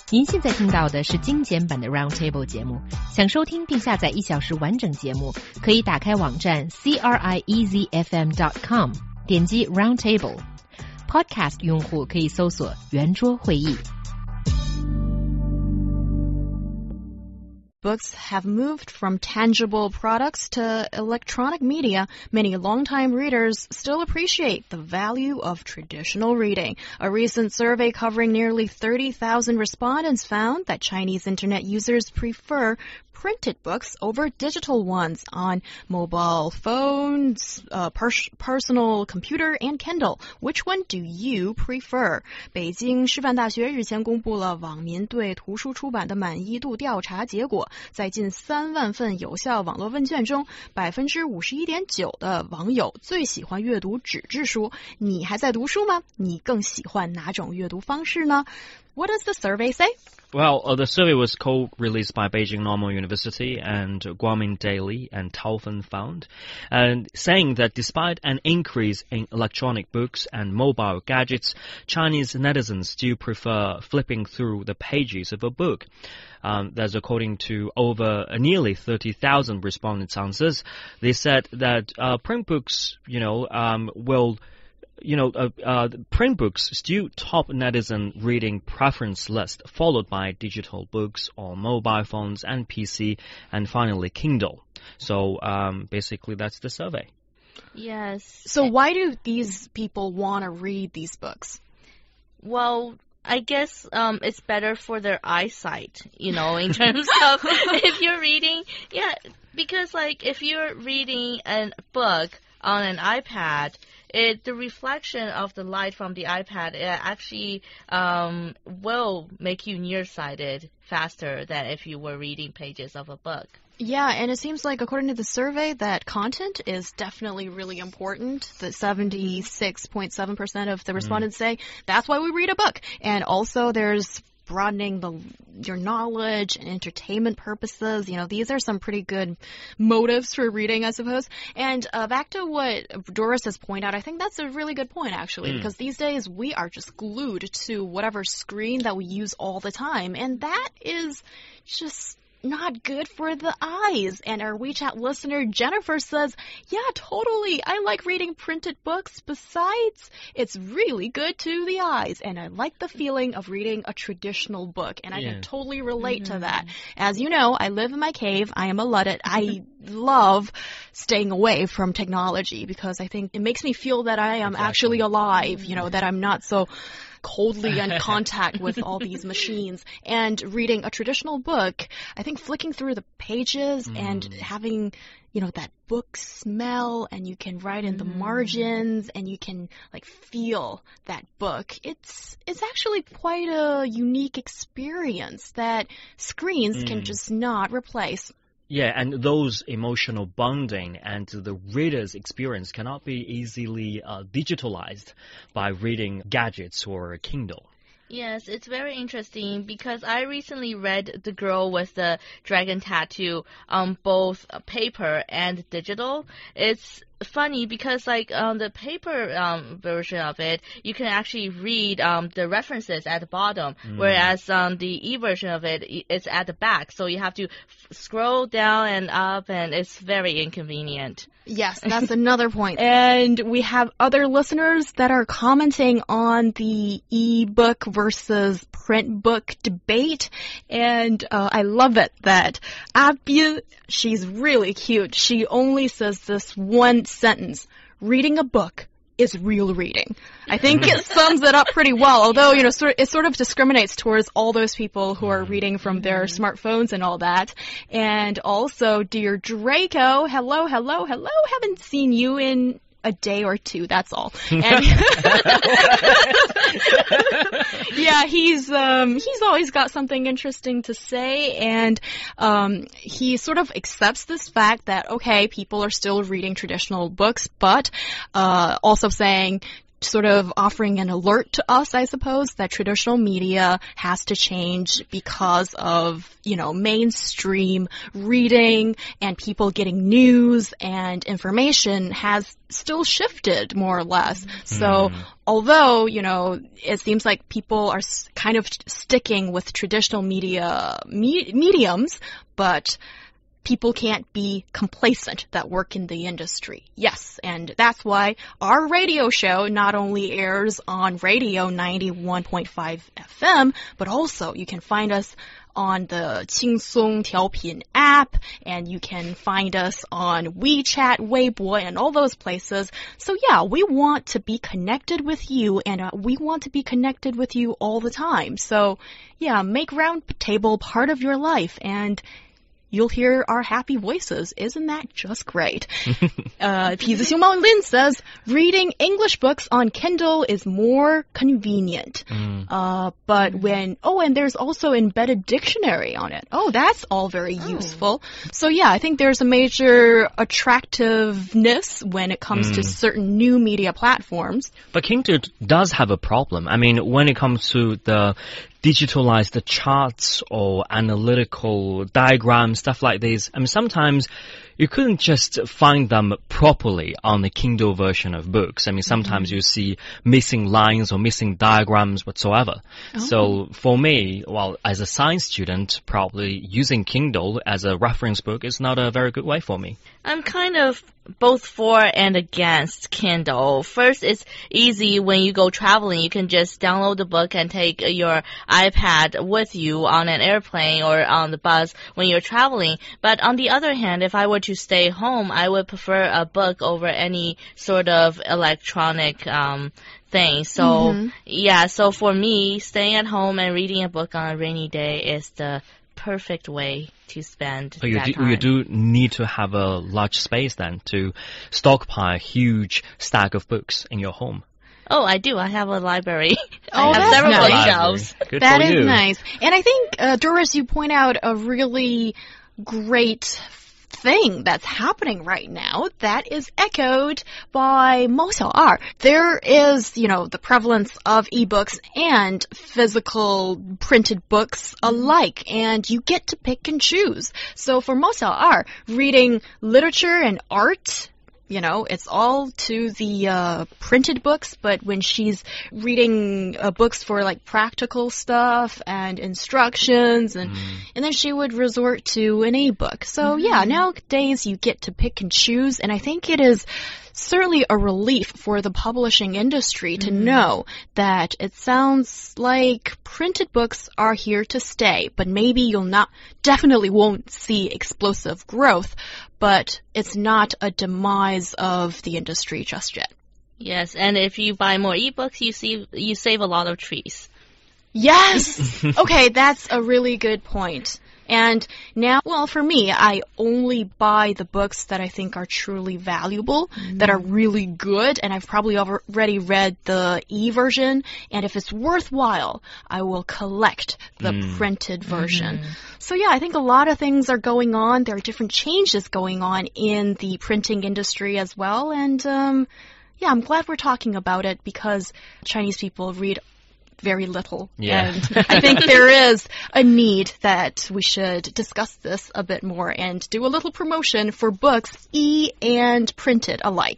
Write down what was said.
您现在听到的是精简版的 Roundtable 节目。想收听并下载1小时完整节目，可以打开网站 CRIEZFM.com， 点击 Roundtable。Podcast 用户可以搜索圆桌会议。 Books have moved from tangible products to electronic media. Many longtime readers still appreciate the value of traditional reading. A recent survey covering nearly 30,000 respondents found that Chinese internet users prefer printed books over digital ones on mobile phones, personal computer, and Kindle. Which one do you prefer? 北京师范大学日前公布了网民对图书出版的满意度调查结果，在近3万份有效网络问卷中，51.9%的网友最喜欢阅读纸质书。你还在读书吗？你更喜欢哪种阅读方式呢？ What does the survey say? Well, the survey was co-released by Beijing Normal University and Guomin Daily and Taofen Fund, and saying that despite an increase in electronic books and mobile gadgets, Chinese netizens still prefer flipping through the pages of a book. That's according to over nearly 30,000 respondents' answers. They said that print books, print books still top netizen reading preference list, followed by digital books on mobile phones and PC, and finally Kindle. So basically that's the survey. Yes. So why do these people want to read these books? Well, I guess it's better for their eyesight, in terms of if you're reading. Yeah, because if you're reading a book on an iPad, the reflection of the light from the iPad actually will make you nearsighted faster than if you were reading pages of a book. Yeah, and it seems like, according to the survey, that content is definitely really important. That 76.7% of the respondents say that's why we read a book. And also there's broadening your knowledge and entertainment purposes. These are some pretty good motives for reading, I suppose. And back to what Doris has pointed out, I think that's a really good point, actually, because these days we are just glued to whatever screen that we use all the time. And that is just not good for the eyes. And our WeChat listener Jennifer says, yeah, totally. I like reading printed books. Besides, it's really good to the eyes. And I like the feeling of reading a traditional book. And I can totally relate to that. As you know, I live in my cave. I am a Luddite. I love staying away from technology because I think it makes me feel that I am actually alive, that I'm not so coldly in contact with all these machines. And reading a traditional book, I think flicking through the pages and having, that book smell, and you can write in the margins and you can feel that book. It's actually quite a unique experience that screens can just not replace. Yeah, and those emotional bonding and the reader's experience cannot be easily digitalized by reading gadgets or Kindle. Yes, it's very interesting because I recently read The Girl with the Dragon Tattoo on both paper and digital. It's funny because on the paper version of it, you can actually read the references at the bottom, whereas on the e-version of it, it's at the back. So you have to scroll down and up, and it's very inconvenient. Yes, that's another point. And we have other listeners that are commenting on the e-book versus print book debate. And I love it that Abin, she's really cute. She only says this one sentence: reading a book is real reading. I think it sums it up pretty well, although, it sort of discriminates towards all those people who are reading from their smartphones and all that. And also, dear Draco, hello. Haven't seen you in a day or two, that's all. And yeah, he's always got something interesting to say, and he sort of accepts this fact that, okay, people are still reading traditional books, but also saying sort of offering an alert to us, I suppose, that traditional media has to change because of, mainstream reading and people getting news and information has still shifted more or less. So although, it seems like people are kind of sticking with traditional mediums, but people can't be complacent that work in the industry. Yes, and that's why our radio show not only airs on radio 91.5 FM, but also you can find us on the 轻松调频 app, and you can find us on WeChat, Weibo, and all those places. So yeah, we want to be connected with you, and we want to be connected with you all the time. So yeah, make Roundtable part of your life, and you'll hear our happy voices. Isn't that just great? 痞子熊猫 Lin says, reading English books on Kindle is more convenient. But and there's also embedded dictionary on it. Oh, that's all very useful. So yeah, I think there's a major attractiveness when it comes to certain new media platforms. But Kindle does have a problem. I mean, when it comes to the digitalized charts or analytical diagrams, stuff like this. I mean, sometimes you couldn't just find them properly on the Kindle version of books. I mean, sometimes you see missing lines or missing diagrams whatsoever. So for me, well, as a science student, probably using Kindle as a reference book is not a very good way for me. I'm kind of both for and against Kindle. First, it's easy when you go traveling. You can just download the book and take your iPad with you on an airplane or on the bus when you're traveling. But on the other hand, if I were to stay home, I would prefer a book over any sort of electronic thing. So, yeah, so for me, staying at home and reading a book on a rainy day is the perfect way to spend that time. You do need to have a large space then to stockpile a huge stack of books in your home. Oh, I do. I have a library. Oh, I have several bookshelves. That is nice. And I think, Doris, you point out a really great thing that's happening right now that is echoed by Mao Xiao'er. There is, the prevalence of ebooks and physical printed books alike, and you get to pick and choose. So for Mao Xiao'er, reading literature and art, it's all to the printed books, but when she's reading books for like practical stuff and instructions, and then she would resort to an e-book. So yeah, nowadays you get to pick and choose, and I think it is certainly a relief for the publishing industry to know that it sounds like printed books are here to stay, but maybe definitely won't see explosive growth, but it's not a demise of the industry just yet. Yes, and if you buy more ebooks, you save a lot of trees. Yes! Okay, that's a really good point. And now, well, for me, I only buy the books that I think are truly valuable, that are really good, and I've probably already read the e-version, and if it's worthwhile, I will collect the printed version. So yeah, I think a lot of things are going on. There are different changes going on in the printing industry as well, and yeah, I'm glad we're talking about it because Chinese people read very little. Yeah. And I think there is a need that we should discuss this a bit more and do a little promotion for books, e and printed alike.